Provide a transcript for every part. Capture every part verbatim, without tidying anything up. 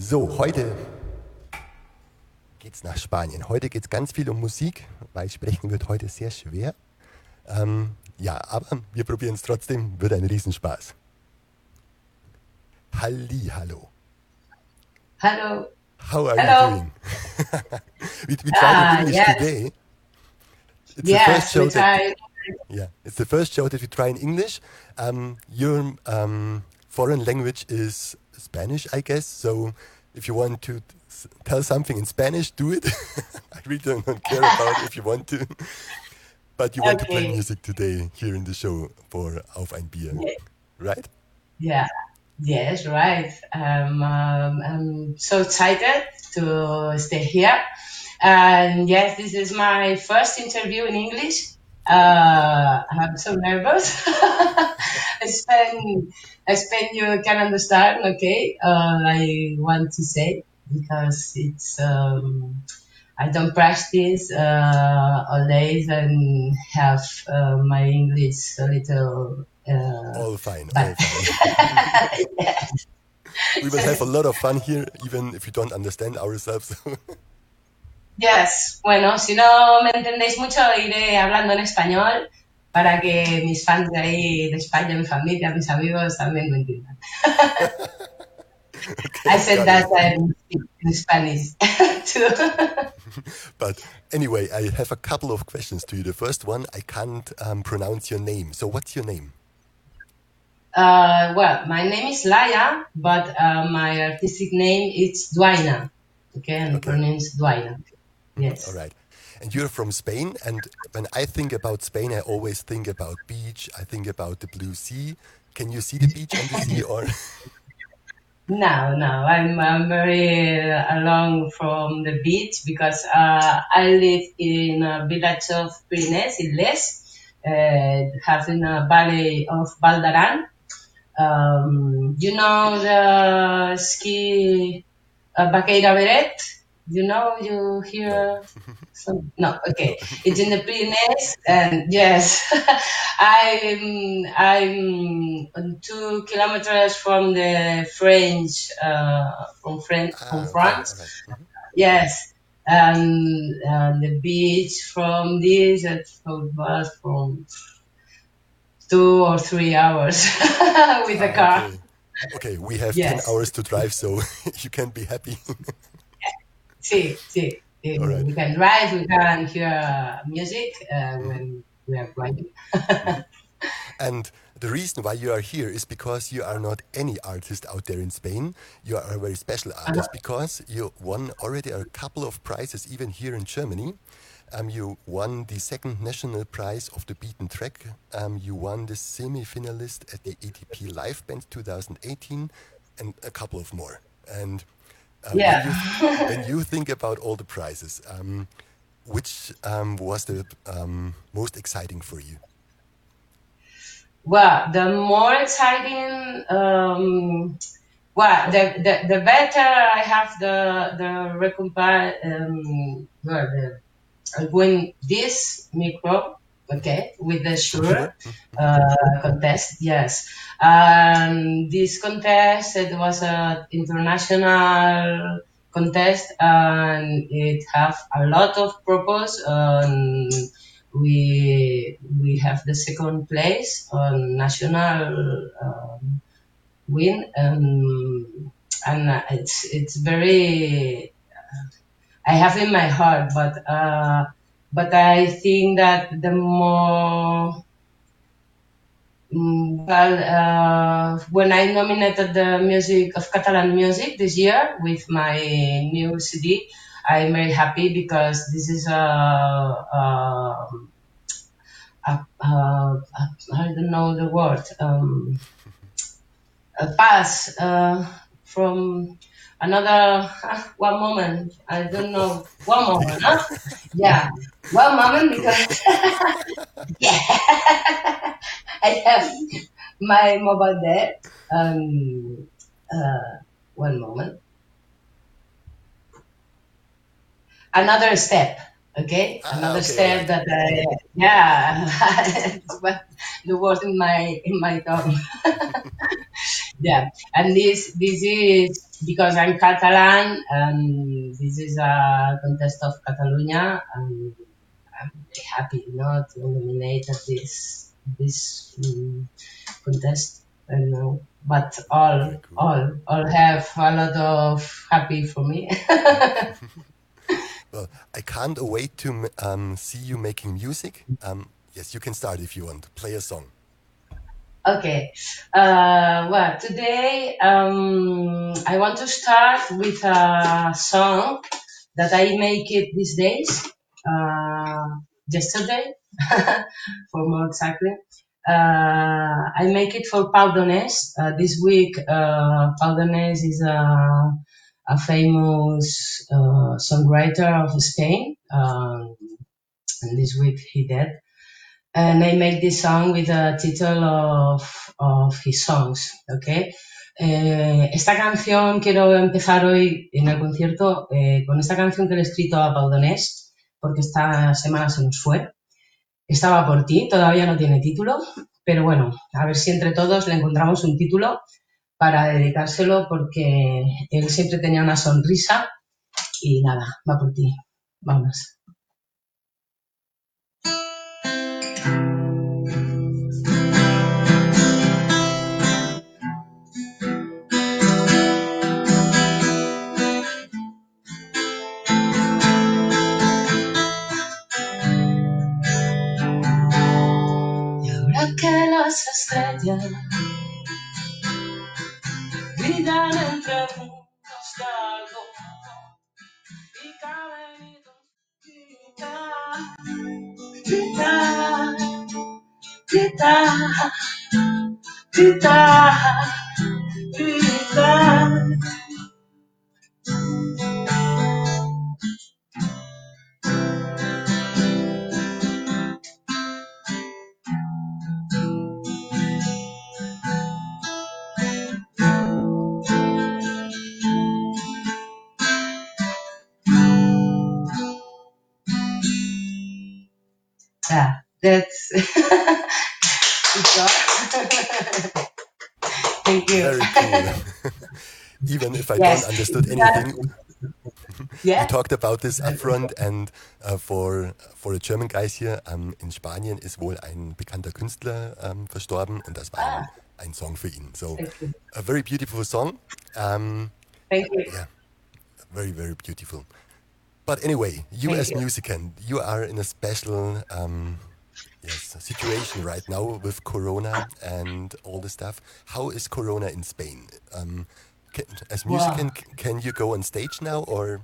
So, heute geht's nach Spanien. Heute geht's ganz viel um Musik, weil sprechen wird heute sehr schwer. Ähm, ja, aber wir probieren es trotzdem, wird ein Riesenspaß. Halli, hallo. Hello. How are Hello. you doing? we we tried in Ah, English yes. today. It's the Yes, first show we that tried. yeah, it's the first show that we try in English. Um, your um, foreign language is Spanish, I guess. So if you want to s- tell something in Spanish, do it. I really don't, don't care about if you want to. But you want to play Okay. music today here in the show for Auf ein Bier, Yeah. right? Yeah. Yes, right. Um, um, I'm so excited to stay here. And yes, this is my first interview in English. Uh, I'm so nervous. I spend, I spend you can understand, okay? Uh, I want to say because it's, um, I don't practice uh, all days and have uh, my English a little uh, All fine, all bad. fine. Yes. We will have a lot of fun here, even if you don't understand ourselves. Yes. Bueno, si no me entendéis mucho, iré hablando en español para que mis fans de ahí, de España, mi familia, mis amigos también lo entiendan. Okay, I said got that it. I'm in Spanish too. But anyway, I have a couple of questions to you. The first one, I can't um, pronounce your name. So what's your name? Uh, well, my name is Laia, but uh, my artistic name is Duaina. Okay, and Okay. pronounced Duaina. Yes. All right. And you're from Spain, and when I think about Spain, I always think about beach. I think about the blue sea. Can you see the beach and the sea, or No, no, I'm, I'm very uh, along from the beach because uh, I live in a village of Pyrenees, in Les, uh, having a valley of Valdaran. Um, you know the ski uh, Baqueira Beret? You know, you hear no? some, no, okay. No. It's in the Pyrenees, and yes, I'm I'm two kilometers from the French, uh, from Fran- from Ah, okay. All France. right. Mhm. Yes, and, and the beach from this it was from two or three hours with the Ah, car. okay. Okay, we have ten Yes, hours to drive, so you can be happy. see, see. All right. We can drive, we can hear music uh, Mhm. when we are driving. And the reason why you are here is because you are not any artist out there in Spain. You are a very special artist because you won already a couple of prizes, even here in Germany. Um, you won the second national prize of the Beaten Track. Um, you won the semi-finalist at the A T P Live Band twenty eighteen, and a couple of more. And uh, when Yeah. you when you think about all the prizes, um, which um, was the um, most exciting for you? Well, the more exciting, um, well, the, the the better I have the the recompense. Um, well, the, I win this micro, okay, with the Shure Sure. uh, contest. Yes, um, this contest it was a international contest and it have a lot of purpose. Um, we we have the second place on national um, win, um, and it's it's very I have in my heart, but uh, but I think that the more mm, well, uh, when I nominated the music of Catalan music this year with my new C D, I'm very happy because this is a, a, a, a, a I don't know the word, um, a pass uh, from another uh, one moment. I don't know one moment, huh? Yeah, one moment Cool. because yeah, I have my mobile there. Um, uh, one moment. Another step. Okay, Ah, another okay, all step right. that I yeah, it's what the word in my in my tongue. Yeah, and this this is because I'm Catalan, and this is a contest of Catalonia, and I'm very happy, you know, to nominate at this this um, contest. I don't know, but Very all cool. all all have a lot of happy for me. Well, I can't wait to m- um, see you making music. Um, yes, you can start if you want. Play a song. Okay. Uh, well, today um, I want to start with a song that I make it these days. Uh, yesterday, for more exactly. Uh, I make it for Pau Donés. Uh, this week, uh, Pau Donés is a, a famous uh, songwriter of Spain. Um, and this week he died, and I make this song with the title of, of his songs, ¿ok? Eh, esta canción quiero empezar hoy en el concierto eh, con esta canción que le he escrito a Pau Donés, porque esta semana se nos fue. Estaba por ti, todavía no tiene título, pero bueno, a ver si entre todos le encontramos un título para dedicárselo, porque él siempre tenía una sonrisa y nada, va por ti. Vamos. Y ahora que las estrellas brillan entre mundos de algo y caben y grita, grita, grita, grita, grita. Yeah, that's good job. Thank you. Very cool. Even if I don't Yes, understood that, anything, you yeah. talked about this upfront and uh, for for the German guys here um, in Spanien ist wohl ein bekannter Künstler um, verstorben und das war ein, Ah, ein Song für ihn. So thank you. a very beautiful song. Um, Thank you. yeah, very very beautiful. But anyway, you Thank as you. musician, you are in a special um, yes situation right now with Corona and all the stuff. How is Corona in Spain? Um, can, as Wow. musician, c- can you go on stage now or?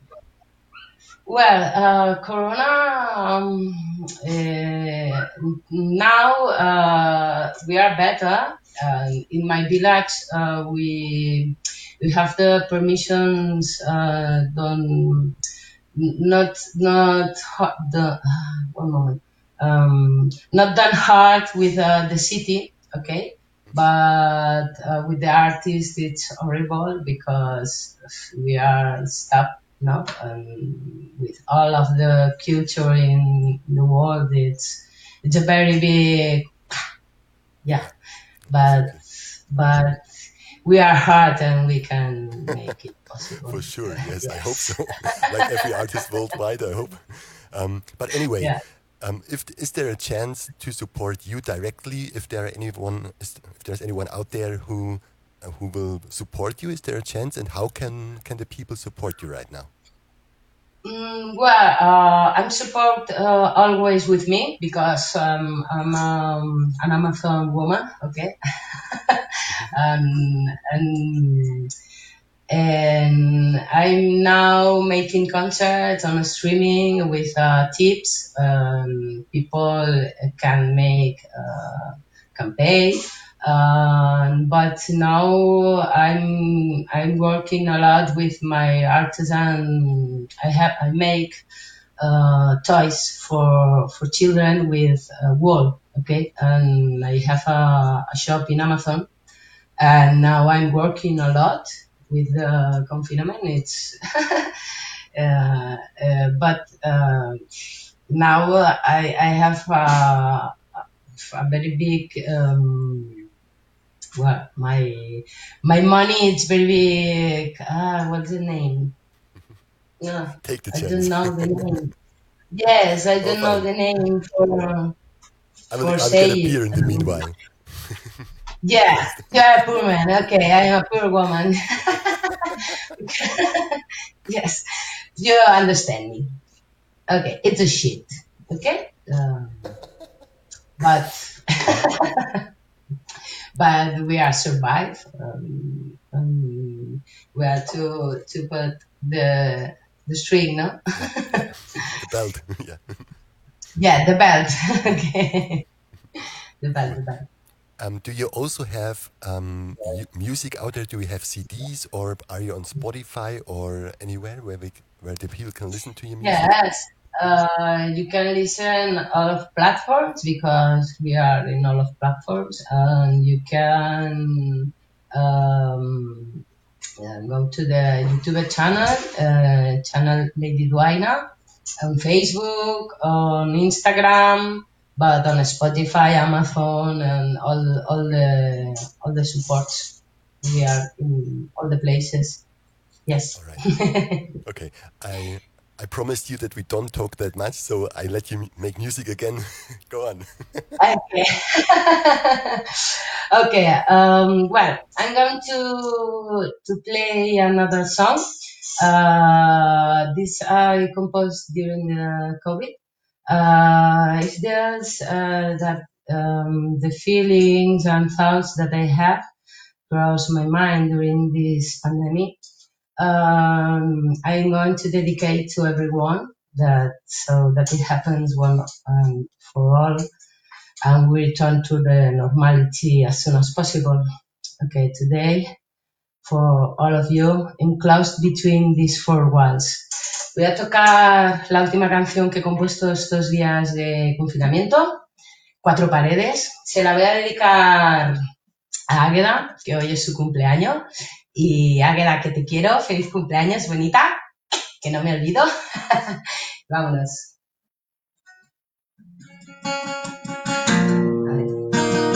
Well, uh, Corona, um, uh, now uh, we are better. Uh, in my village, uh, we we have the permissions uh, done, not not ho- the one moment, um, not done hard with uh, the city, okay, but uh, with the artist it's horrible because we are stuck now, and with all of the culture in the world, it's it's a very big, yeah, Yeah, but exactly. but we are hard and we can make it possible. For sure. Yes, I hope so. Yes. Like every artist worldwide, I hope. Um, but anyway, Yeah. um, if is there a chance to support you directly? If there are anyone, is, if there's anyone out there who uh, who will support you, is there a chance? And how can can the people support you right now? Mm, well, uh, I'm support uh, always with me because um, I'm um, an Amazon woman, okay, um, and and I'm now making concerts on streaming with uh, tips. Um, people can make uh, can pay, um, but now I'm I'm working a lot with my artisan. I have I make uh, toys for for children with uh, wool. Okay, and I have a, a shop in Amazon, and now I'm working a lot with the confinement. It's uh, uh, but uh, now uh, I I have uh, a very big um, well, my my money is very big. Ah, what's the name? No, Take the I don't chance. know the name. Yes, I Oh, don't know fine. the name for I will, for I will get a saying. beer in the meanwhile. Yeah, Just, you're a poor man. Okay, I am a poor woman. Yes, you understand me. Okay, it's a shit. Okay, um, but but we are survive. Um, um, we are to to put the the string, no? yeah, yeah. The belt. Yeah. Yeah, the belt. Okay, the belt, Cool. the belt. Um, do you also have um, mu- music out there? Do you have C Ds, or are you on Spotify or anywhere where we, where the people can listen to your music? Yes, uh, you can listen all of platforms because we are in all of platforms, and you can um, uh, go to the YouTube channel, uh, channel Lady Duaina, on Facebook, on Instagram, but on Spotify, Amazon, and all all the all the supports. We are in all the places. Yes. All right. Okay. I I promised you that we don't talk that much, so I let you m- make music again. Go on. Okay. Okay. Um, well, I'm going to to play another song. Uh, this I composed during the COVID. Uh, it's just uh, that um, the feelings and thoughts that I have cross my mind during this pandemic. Um, I'm going to dedicate to everyone that so that it happens one um, for all and we return to the normality as soon as possible. Okay, today, for all of you, enclosed between these four walls. Voy a tocar la última canción que he compuesto estos días de confinamiento, Cuatro Paredes. Se la voy a dedicar a Águeda, que hoy es su cumpleaños. Y Águeda, que te quiero, feliz cumpleaños, bonita, que no me olvido. Vámonos. Vale.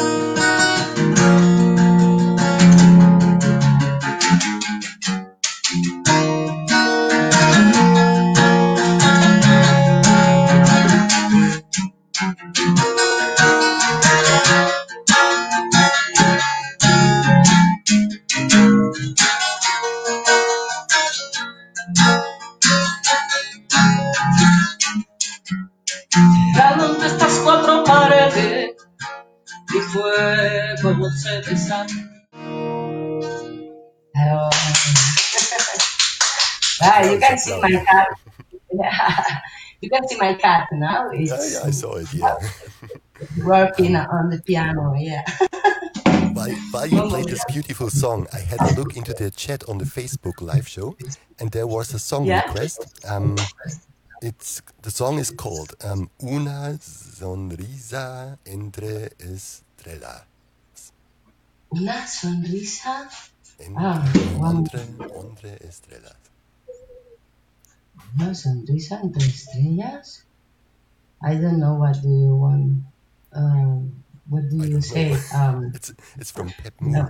Entrando entre estas cuatro paredes, mi fuego no se desata. Oh. The Ah, car you is can up see loud. my cat. Yeah. You can see my cat now. Yeah, It's yeah, I saw it. Yeah. working Um, on the piano. Yeah. while while you played this beautiful song, I had a look into the chat on the Facebook live show, and there was a song Yeah. request. Um, it's the song is called um, Una sonrisa entre estrellas. Una sonrisa. Ah, Entre, one, entre, entre estrellas. una sonrisa entre estrellas. I don't know what do you want. Um, what do I you don't know. say? Um, it's it's from Pep Moon. no.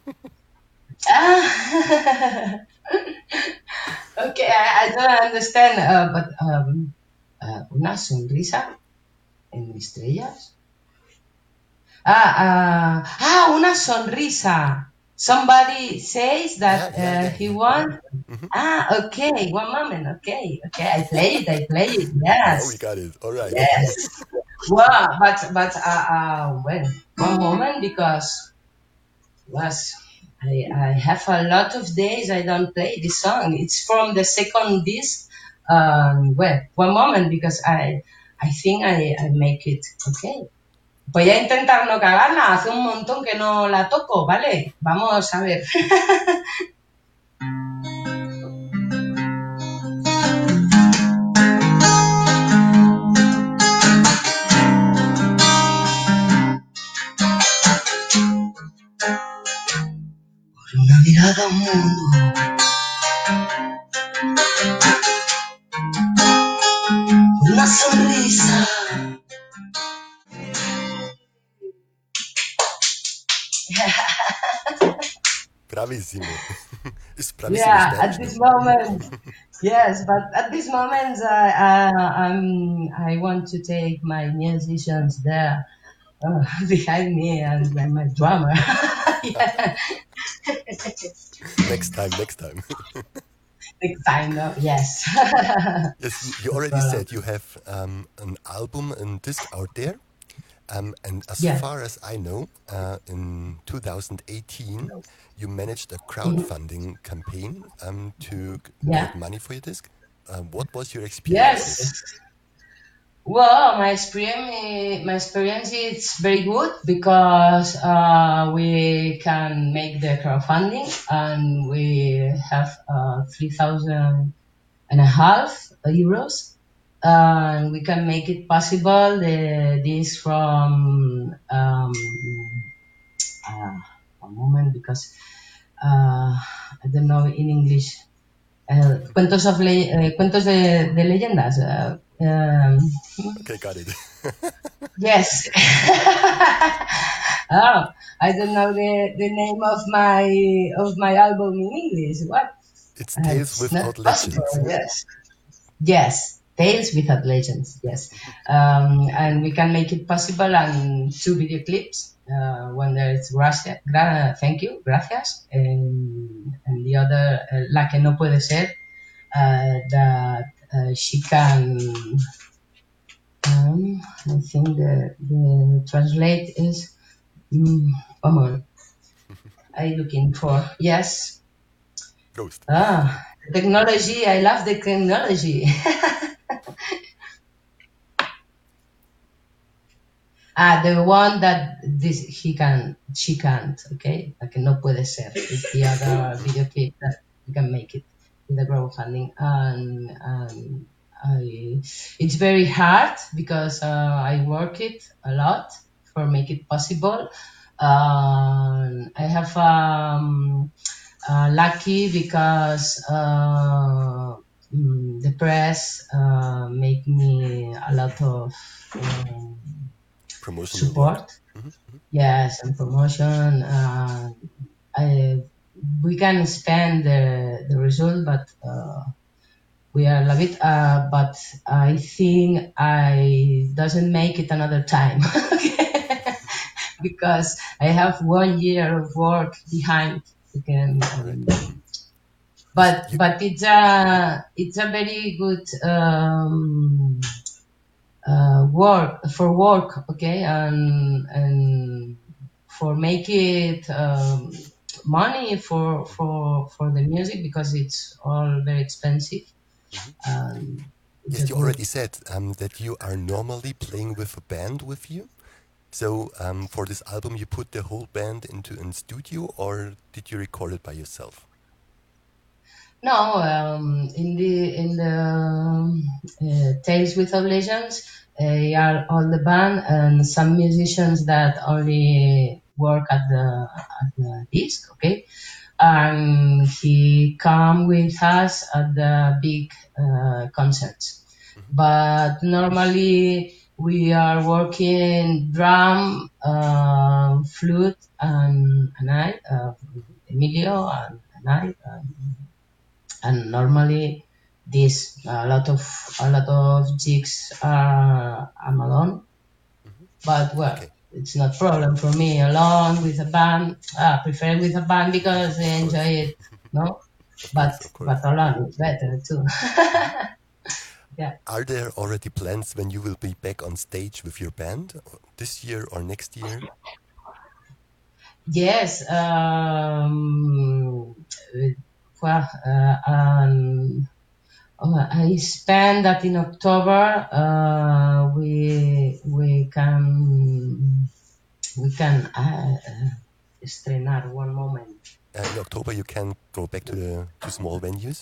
Ah. Okay, I, I don't understand. Uh, but um, uh, una sonrisa en estrellas. Ah, uh, ah, una sonrisa. Somebody says Yeah, that yeah, uh, yeah, he yeah. won. hmm Ah, okay. One moment. Okay, okay. I play it. I play it. Now we Yes, got it. All right. yes. Wow, but but uh, uh well, one moment because was I I have a lot of days I don't play this song. It's from the second disc. Um, well, one moment because I I think I I make it. Okay. Voy a intentar no cagarla, hace un montón que no la toco, ¿vale? Vamos a ver. Una mirada a un mundo, una sonrisa. Bravissimo. Is bravissimo Yeah, Spanish? at No. this moment, yes, but at this moment, I, I, I'm, I want to take my musicians there uh, behind me and my, my drummer. Yeah, Next time, next time. next time, no, yes. Yes, you, you No already problem. said you have um, an album and disc out there. Um, and as Yeah. far as I know, uh, in two thousand eighteen, you managed a Mhm. crowdfunding campaign um, to g- Yeah. get money for your disc. Uh, what was your experience with it? Yes. Well, my experience, my experience is very good because uh, we can make the crowdfunding and we have uh, three thousand and a half euros, and we can make it possible. The, this from um, uh, a moment because uh, I don't know in English. Uh, cuentos of le- uh, cuentos de, de leyendas. Uh, um, Okay, got it. Yes. Oh, I don't know the, the name of my of my album in English. What? It's Uh, Tales it's not Without possible. Legends. Yes. Yes. Tales without legends. Yes. Um, and we can make it possible and two video clips. Uh, one there is gracias, gra- thank you, gracias, and, and the other uh, La que no puede ser, uh, that uh, she can. Um, I think the the translate is mm, come on. Are you looking for? Yes. Ghost. Ah, technology. I love the technology. Ah, the one that this he can, she can't. Okay, like no puede ser. It's the other video clip that you can make it with the crowdfunding, and and I, it's very hard because uh, I work it a lot for make it possible. Um, I have um, uh, lucky because uh, mm, the press uh, make me a lot of. Um, Promotional work. support. Yes, and promotion. Uh, I, we can spend the, the result, but uh, we are love it. Uh, but I think I doesn't make it another time because I have one year of work behind. Again, All right. um, Yes, but you, but it's a it's a very good um, uh, work for work, okay, and and for make it um, money for for for the music because it's all very expensive. Um, it's a yes, you good. already said um, that you are normally playing with a band with you. So um, for this album, you put the whole band into a studio, or did you record it by yourself? No, um, in the in the um, uh, Tales Without Legends, uh, are all the band and some musicians that only work at the at the disc, okay. And he come with us at the big uh, concerts. But normally we are working drum, uh, flute, and, and I, uh, Emilio, and, and I. Um, and normally this a lot of a lot of jigs are I'm alone, but well, Okay, it's not problem for me alone with a band. I prefer with a band because I of enjoy course, it, no, of but course, of but course. alone is better too. Yeah. Are there already plans when you will be back on stage with your band this year or next year? Yes. Um. Well, uh, um, oh, I spent that in October. Uh, we we can we can uh, uh, estrenar one moment. Uh, in October, you can go back to the to small venues.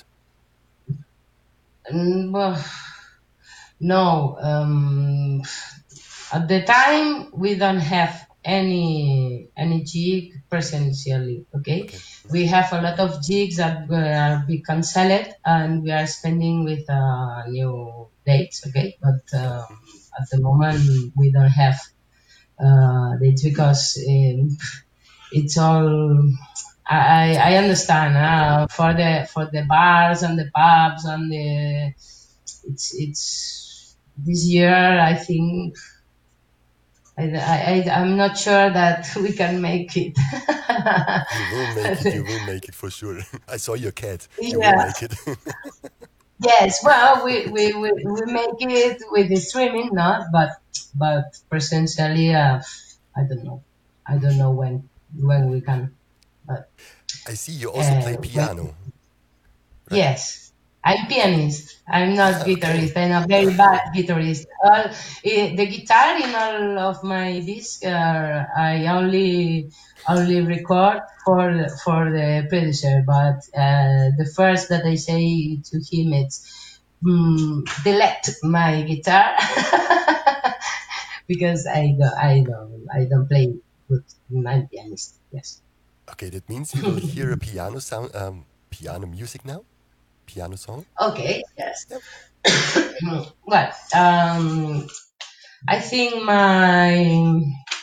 Mm, well, no, um, at the time we don't have any any gig presentially. Okay, Okay, we have a lot of gigs that will be cancelled, and we are spending with uh, new dates. Okay, but um, at the moment we don't have uh, dates because um, it's all I, I understand uh, for the for the bars and the pubs and the it's it's this year I think I, I, I I'm not sure that we can make it. You will make it. You will make it for sure. I saw your cat. You will Yeah. make it. Yes. Well, we, we, we, we make it with the streaming, not but but presentially. Uh, I don't know. I don't know when when we can. But I see you also uh, play when piano, right? yes, I'm pianist. I'm not Ah, okay. guitarist. I'm a very bad guitarist. All, eh, the guitar in all of my discs, uh, I only only record for for the producer. But uh, the first that I say to him, it's mm, delete my guitar because I don't I don't I don't play good. I'm pianist. Yes. Okay, that means we will hear a piano sound, um, piano music now. Piano song. Okay. Yes. Yep. Well, um, I think my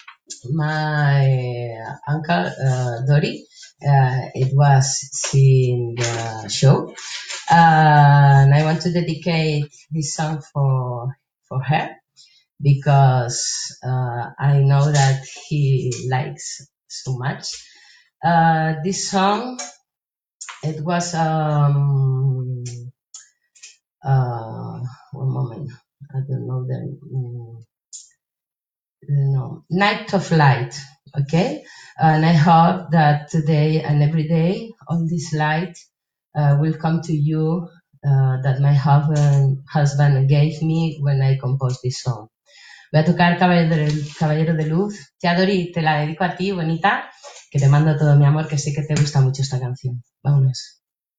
my uncle uh, Dori, uh, it was seeing the show, uh, and I want to dedicate this song for for her because uh, I know that he likes so much. Uh, this song, it was um uh one moment, I don't know the. mm, no, Night of Light. Okay, and I hope that today and every day all this light uh, will come to you uh, that my husband, husband gave me when I composed this song. Voy a tocar Caballero de, Caballero de Luz. Teodori, te la dedico a ti, bonita, que te mando todo mi amor, que sé que te gusta mucho esta canción. Vámonos.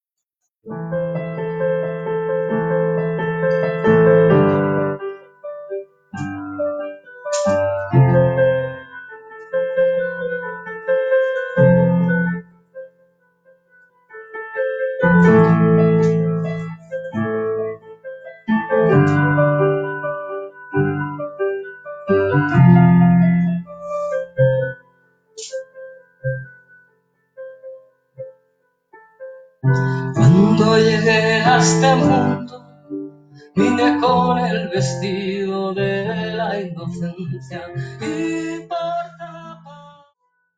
Cuando llegué a este mundo, vine con el vestido de la inocencia y por tapar.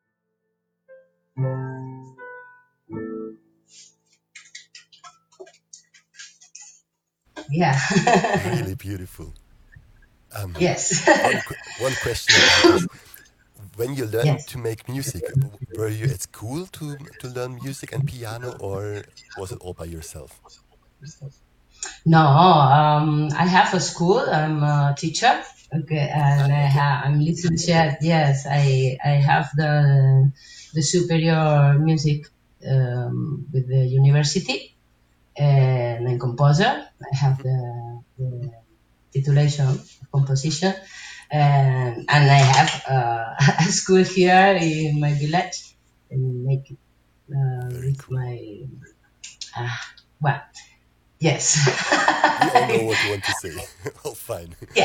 Yeah. Really beautiful. Um, Yes. one qu- one question about this: when you learned Yes. to make music, w- were you at school to to learn music and piano, or was it all by yourself? No, um, I have a school. I'm a teacher. Okay, Ah, and I okay. have, I'm licensed. Yes, I I have the the superior music um, with the university, and I'm composer. I have the, the titulation of composition, and and I have uh, a school here in my village, and make it uh, Very with cool. my uh, well, yes. We all know what you want to say. All fine. Yeah.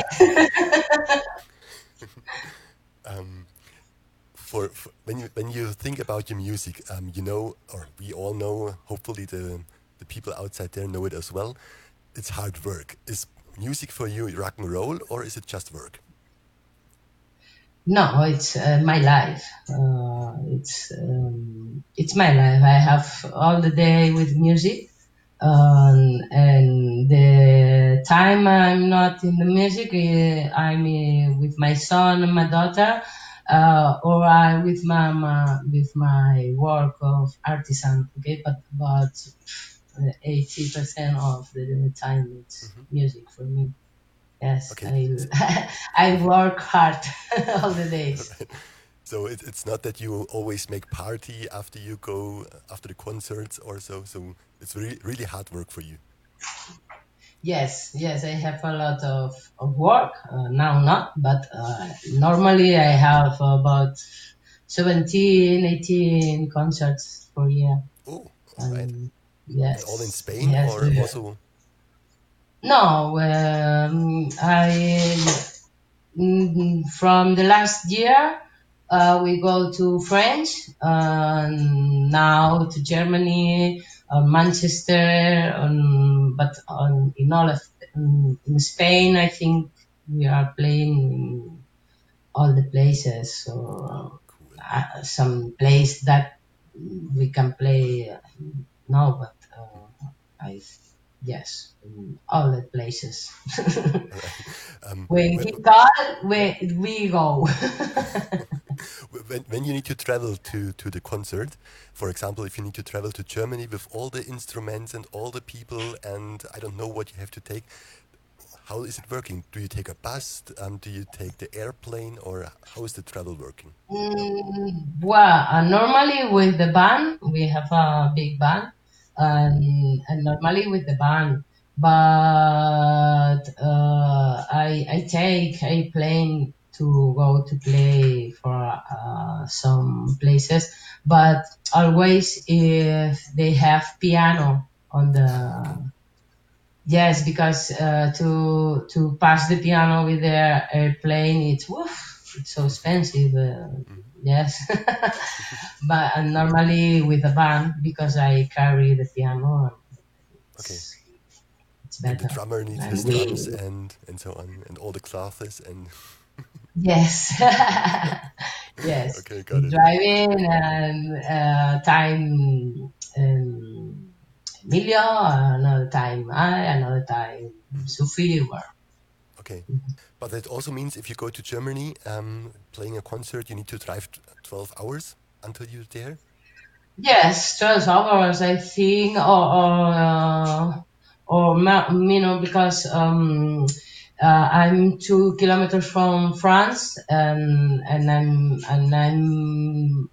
Um, for, for when you when you think about your music, um, you know, or we all know. Hopefully, the the people outside there know it as well. It's hard work. Is music for you rock and roll, or is it just work? No, it's uh, my life. Uh, it's um, it's my life. I have all the day with music, um, and the time I'm not in the music, uh, I'm uh, with my son and my daughter, uh, or I with my, my with my work of artisan. Okay, but but eighty percent of the time it's Hmm. music for me. Yes, Okay, I so, I work hard all the days. right. So it, it's not that you always make party after you go after the concerts or so. So it's really really hard work for you. Yes, yes, I have a lot of, of work. Uh, now not, but uh, normally I have about seventeen, eighteen concerts per year. Oh, all right. And And all in yes, Spain yes. or uh, also? No, um, I mm, from the last year. uh, we go to French, uh, now to Germany, uh, Manchester, um, but on, in all of in, in Spain, I think we are playing in all the places. So Cool. uh, some place that we can play uh, now, but uh, I yes, in all the places. All right. Um, When when, he call, we we go. when, when you need to travel to, to the concert, for example, if you need to travel to Germany with all the instruments and all the people, and I don't know what you have to take, how is it working? Do you take a bus? Um, do you take the airplane, or how is the travel working? Mm, well, uh, normally with the band, we have a big band, and, and normally with the band, but uh, I I take a plane to go to play for uh, some places, but always if they have piano on Okay. the yes, because uh, to to pass the piano with the airplane, it's woof, it's so expensive. Uh, yes, but uh, normally with a band because I carry the piano, Okay. it's it's And the better. drummer needs his And we drums and and so on, and all the clothes and yes, yes, okay, got we it. driving and uh, time um, Emilio, another time I, another time Sophie. Were Okay. But that also means if you go to Germany, um, playing a concert, you need to drive t- twelve hours until you're there. Yes, twelve hours, I think, or or, uh, or ma- you know, because um, uh, I'm two kilometers from France, and and I'm and I'm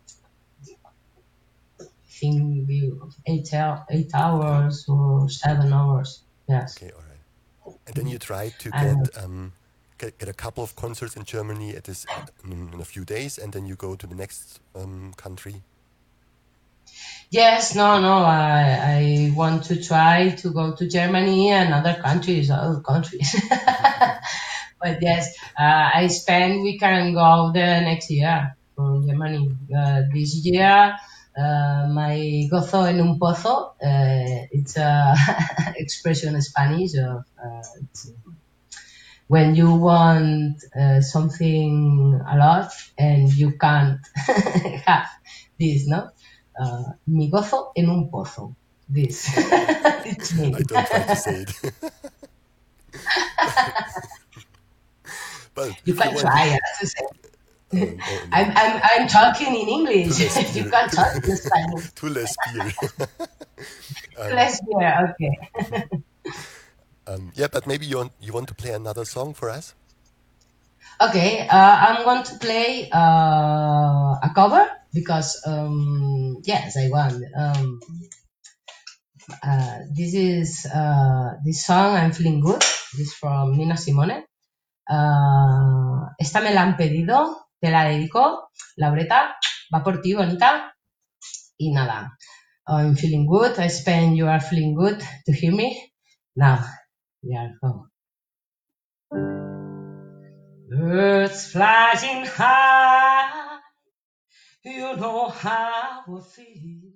I think we- eight hou- eight Okay. hours or seven hours. Yes, Okay. All right. And then you try to get and um, get, get a couple of concerts in Germany at this in, in a few days, and then you go to the next um, country. yes, no, no, I I want to try to go to Germany and other countries, other countries. But yes, uh, I spend we can go the next year from Germany. Uh, this year, uh, my gozo en un pozo. Uh, it's a expression in Spanish of uh, it's when you want uh, something a lot and you can't have this, no? Uh, mi gozo en un pozo. This. It's me. I don't try to say it, but You if you can want, you, try uh, to say. oh, oh no, I'm, I'm, I'm talking in too English. less You beer, can too, talk in Spanish. too less beer. um, Less beer, okay. um, yeah, but maybe you want you want to play another song for us. Okay, uh, I'm going to play uh, a cover because, um, yes, I want. Um, uh, this is uh, this song, I'm Feeling Good. This is from Nina Simone. Uh, esta me la han pedido, te la dedico. Laureta, va por ti, bonita. Y nada, I'm feeling good. I spend you are feeling good to hear me. Now, we are home. Birds flying high, you know how I feel.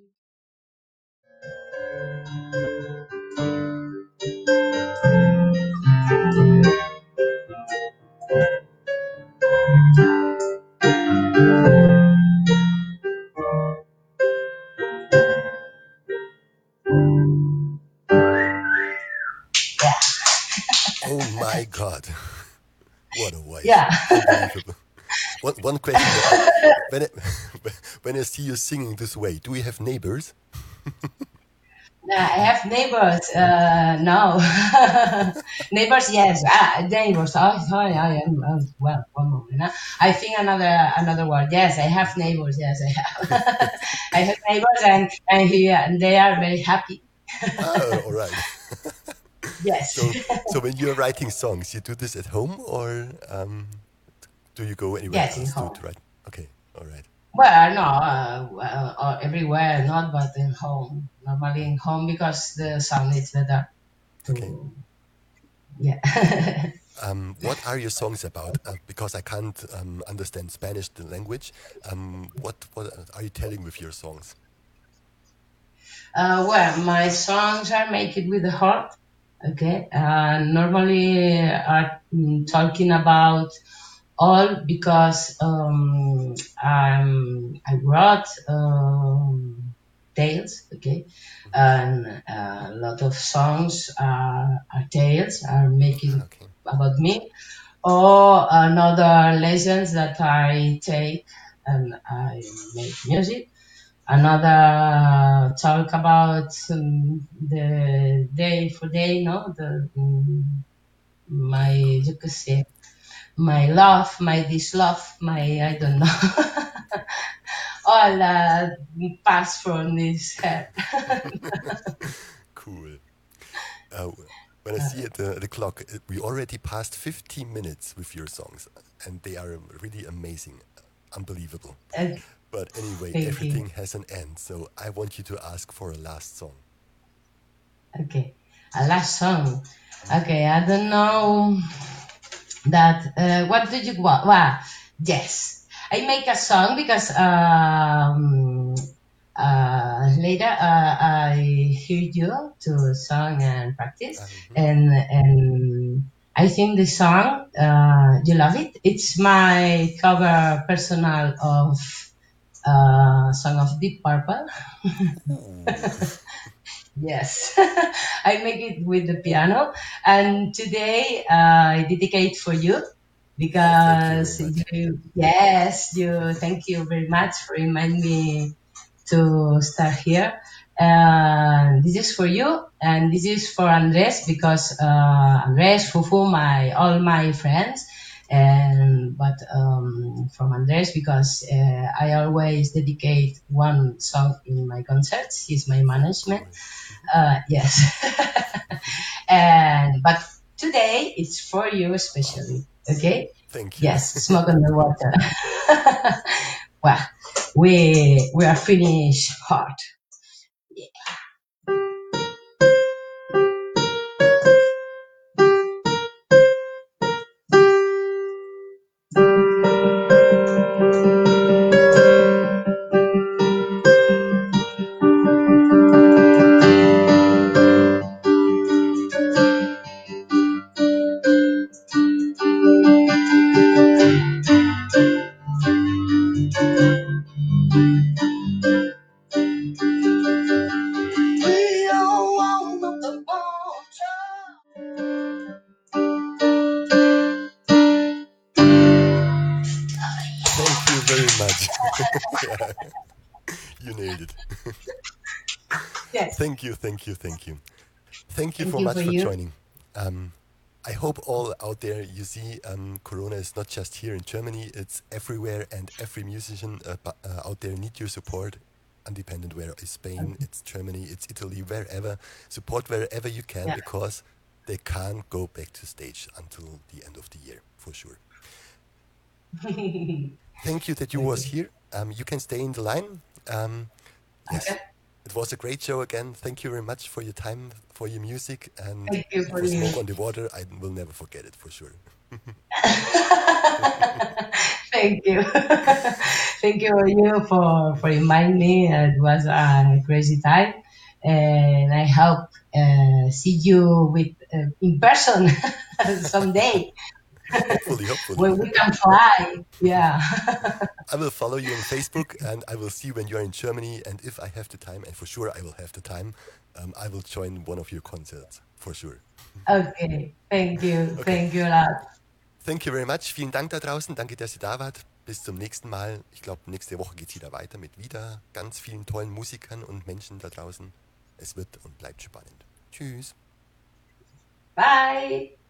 Oh my God, what a voice! Yeah, Unbelievable. One one question: uh, when I, when I see you singing this way, do you have neighbors? yeah. I have neighbors. Uh, no, neighbors. Yes, ah, neighbors. Oh, sorry, I am. Oh, well, one moment. Huh? I think another another word. Yes, I have neighbors. Yes, I have. I have neighbors, and and, he, and they are very happy. Oh, all right. Yes. So so when you're writing songs, you do this at home, or um, do you go anywhere Yes, in else to, home. to write? Okay, all right. Well, no, uh, well, uh, everywhere, not, but in home. Normally in home because the sound is better. Okay. To yeah. Um, what are your songs about? Uh, because I can't um, understand Spanish, the language. Um, what what are you telling with your songs? Uh, well, my songs are made with the heart. Okay. Uh, normally are mm, talking about all because um, I'm, I wrote um, tales. Okay. And uh, a lot of songs are, are tales, are Ah, making okay. about me, or another lessons that I take and I make music. Another talk about um, the day for day, no, the um, my Very cool. you could say my love, my dislove, my I don't know, all uh, pass from this head. Cool. Uh, when I see at the, the clock, uh, we already passed fifteen minutes with your songs, and they are really amazing, unbelievable. Okay, But anyway, thank you. everything has an end, so I want you to ask for a last song. Okay, a last song. Okay, I don't know that. Uh, what do you want? Well, yes, I make a song because um, uh, later uh, I hear you to song and practice, Um, and and I think the song uh, you love it. It's my cover personal of uh, song of Deep Purple. ooh, Yes, I make it with the piano, and today uh, I dedicate for you oh, thank you very because much. you, yes, you, thank you very much for reminding me to start here. And this is for you, and this is for Andres because uh, Andres, Fufu, my all my friends, and but um, from Andres because uh, I always dedicate one song in my concerts. He's my Oh, management. cool. Uh, yes, and but today it's for you especially. Okay. Thank you. Yes, smoke on the water. Well, we we are finished hard. We are one of the water. Thank you very much. Yeah, you nailed it. Yes, Thank you, thank you, thank you. Thank you thank so you for much for you. joining. Um, I hope all out there you see um, Corona is not just here in Germany, it's everywhere, and every musician uh, bu- uh, out there need your support. Independent where it's Spain, it's Germany, it's Italy, wherever. Support wherever you can Yeah. because they can't go back to stage until the end of the year, for sure. Thank you that you was Okay. here. Um, you can stay in the line. Um, yes, Okay. it was a great show again. Thank you very much for your time, for your music, and Thank you for for you. Smoke on the Water. I will never forget it for sure. Thank you. Thank you you for for reminding me. It was a crazy time, and I hope uh, see you with uh, in person someday Hopefully, hopefully. when we can fly. Yeah. I will follow you on Facebook and I will see when you're in Germany. And if I have the time, and for sure I will have the time, um, I will join one of your concerts for sure. Okay. Thank you. Okay, Thank you a lot. thank you very much. Vielen Dank da draußen. Danke, dass ihr da wart. Bis zum nächsten Mal. Ich glaube, nächste Woche geht es wieder weiter mit wieder ganz vielen tollen Musikern und Menschen da draußen. Es wird und bleibt spannend. Tschüss. Bye.